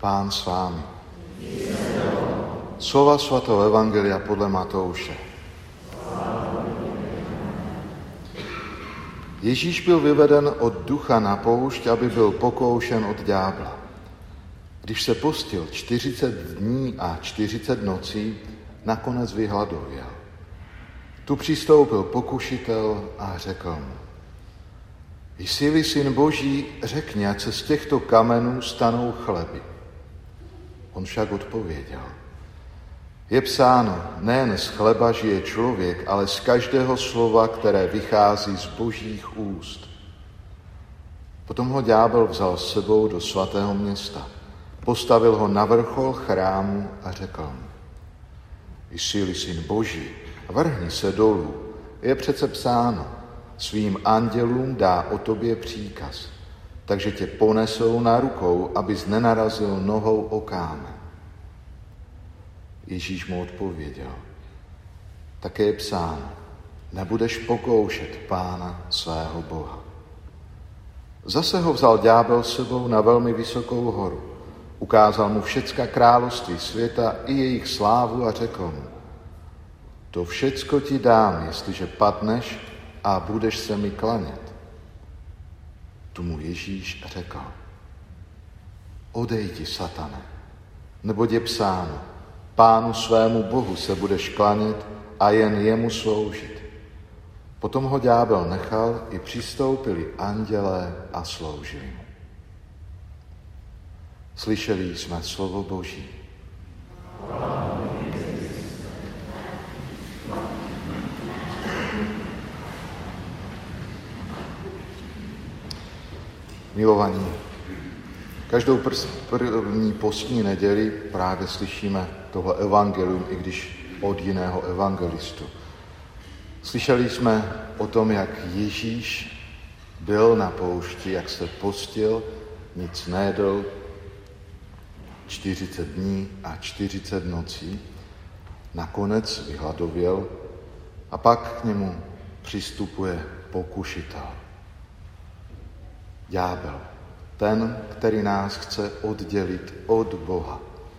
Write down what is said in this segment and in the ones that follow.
Pán s vámi. Slova svatého evangelia podle Matouše. Ježíš byl vyveden od ducha na poušť, aby byl pokoušen od ďábla. Když se postil 40 dní a 40 nocí, nakonec vyhladověl. Tu přistoupil pokušitel a řekl mu: Jsi-li syn Boží, řekni, ať se z těchto kamenů stanou chleby. On však odpověděl: Je psáno, nejen z chleba žije člověk, ale z každého slova, které vychází z Božích úst. Potom ho ďábel vzal s sebou do svatého města. Postavil ho na vrchol chrámu a řekl mu: Jsi-li syn Boží, vrhni se dolů. Je přece psáno, svým andělům dá o tobě příkaz, takže tě ponesou na rukou, abys nenarazil nohou o kámen. Ježíš mu odpověděl: Také je psáno, nebudeš pokoušet Pána svého Boha. Zase ho vzal ďábel s sebou na velmi vysokou horu. Ukázal mu všecka království světa i jejich slávu a řekl mu: To všecko ti dám, jestliže padneš a budeš se mi klanět. Tu mu Ježíš řekl: Odejdi, satane, neboť je psáno, Pánu svému Bohu se budeš klanět a jen jemu sloužit. Potom ho ďábel nechal, i přistoupili andělé a sloužili mu. Slyšeli jsme slovo Boží. Milovaní, každou první postní neděli právě slyšíme tohle evangelium, i když od jiného evangelistu. Slyšeli jsme o tom, jak Ježíš byl na poušti, jak se postil, nic nejedl, 40 dní a 40 nocí, nakonec vyhladověl a pak k němu přistupuje pokušitel. Ďábel, ten, který nás chce oddělit od Boha.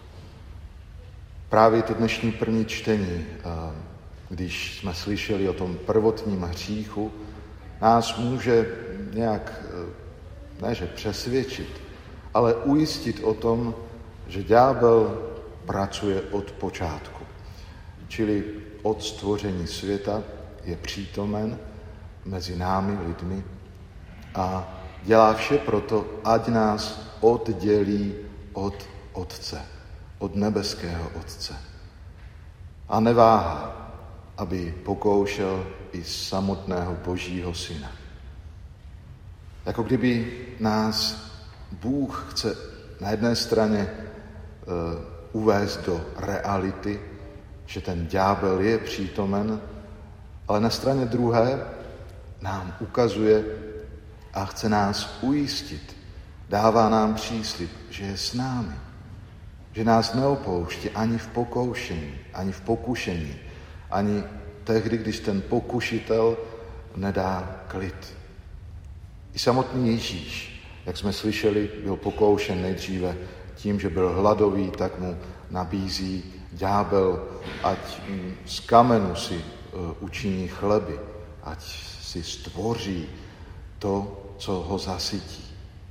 Právě to dnešní první čtení, když jsme slyšeli o tom prvotním hříchu, nás může nějak, ne že přesvědčit, ale ujistit o tom, že ďábel pracuje od počátku. Čili od stvoření světa je přítomen mezi námi lidmi a dělá vše proto, ať nás oddělí od Otce, od nebeského Otce. A neváhá, aby pokoušel i samotného Božího Syna. Jako kdyby nás Bůh chce na jedné straně uvést do reality, že ten ďábel je přítomen, ale na straně druhé nám ukazuje a chce nás ujistit, dává nám příslib, že je s námi, že nás neopouští ani v pokoušení, ani v pokušení, ani tehdy, když ten pokušitel nedá klid. I samotný Ježíš, jak jsme slyšeli, byl pokoušen nejdříve tím, že byl hladový, tak mu nabízí ďábel, ať z kamenu si učiní chleby, ať si stvoří to, co ho zasytí.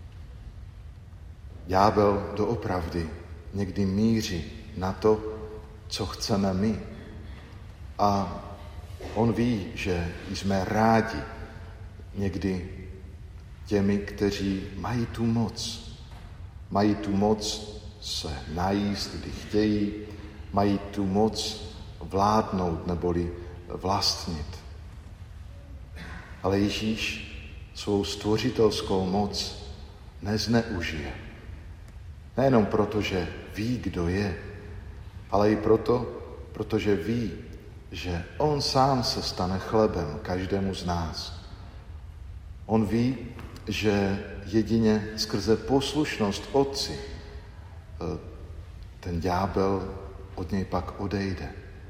Ďábel doopravdy někdy míří na to, co chceme my. A on ví, že jsme rádi někdy těmi, kteří mají tu moc. Mají tu moc se najíst, kdy chtějí, mají tu moc vládnout neboli vlastnit. Ale Ježíš svou stvořitelskou moc nezneužije. Nejenom proto, že ví, kdo je, ale i proto, protože ví, že on sám se stane chlebem každému z nás. On ví, že jedině skrze poslušnost Otci ten ďábel od něj pak odejde.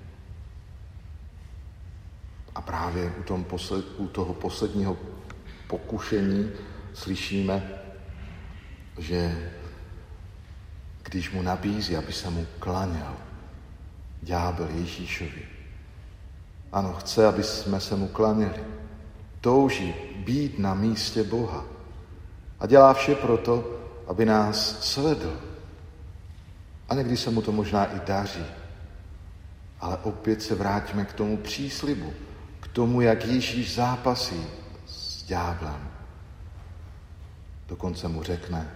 A právě u toho posledního pokušení slyšíme, že když mu nabízí, aby se mu klaněl. Ďábel Ježíšovi. Ano, chce, aby jsme se mu klaněli. Touží být na místě Boha. A dělá vše proto, aby nás svedl. A někdy se mu to možná i daří. Ale opět se vrátíme k tomu příslibu, k tomu, jak Ježíš zápasí s ďáblem. Dokonce mu řekne,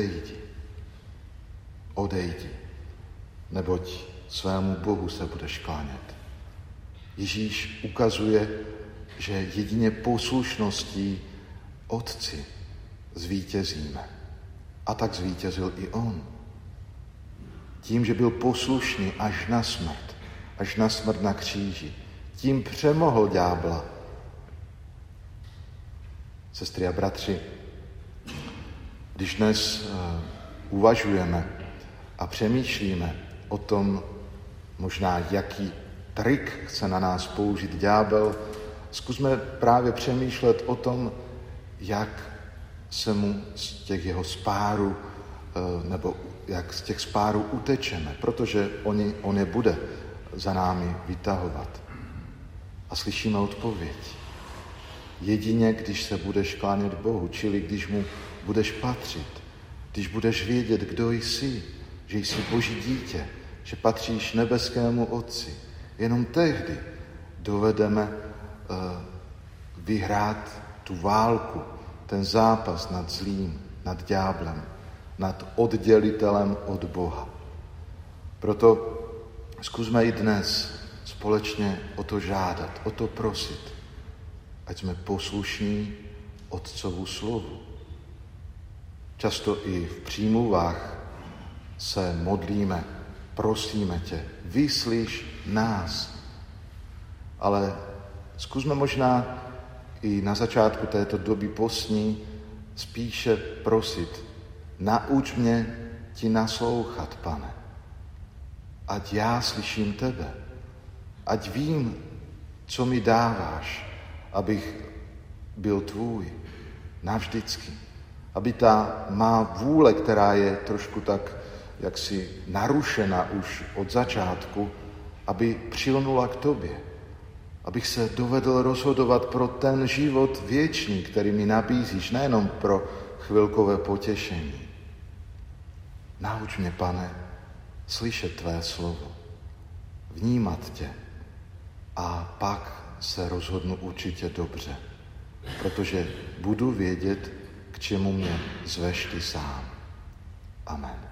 odejdi, neboť svému Bohu se budeš klánět. Ježíš ukazuje, že jedině poslušností Otci zvítězíme. A tak zvítězil i on. Tím, že byl poslušný až na smrt na kříži. Tím přemohl ďábla. Sestry a bratři, když dnes uvažujeme a přemýšlíme o tom, možná jaký trik chce na nás použít ďábel, zkusme právě přemýšlet o tom, jak se mu z těch jeho spárů, nebo jak z těch spárů utečeme, protože on je bude za námi vytahovat. A slyšíme odpověď. Jedině, když se budeš klánět Bohu, čili když mu budeš patřit, když budeš vědět, kdo jsi, že jsi Boží dítě, že patříš nebeskému Otci, jenom tehdy dovedeme vyhrát tu válku, ten zápas nad zlým, nad ďáblem, nad oddělitelem od Boha. Proto zkusme i dnes společně o to žádat, o to prosit, ať jsme poslušní Otcovu slovu. Často i v přímluvách se modlíme, prosíme tě, vyslyš nás. Ale zkusme možná i na začátku této doby postní spíše prosit, nauč mě ti naslouchat, Pane. Ať já slyším tebe. Ať vím, co mi dáváš, abych byl tvůj navždycky. Aby ta má vůle, která je trošku tak jaksi narušena už od začátku, aby přilnula k tobě. Abych se dovedl rozhodovat pro ten život věčný, který mi nabízíš, nejenom pro chvilkové potěšení. Nauč mě, Pane, slyšet tvé slovo, vnímat tě a pak se rozhodnu určitě dobře, protože budu vědět, k čemu mě zveš ty sám. Amen.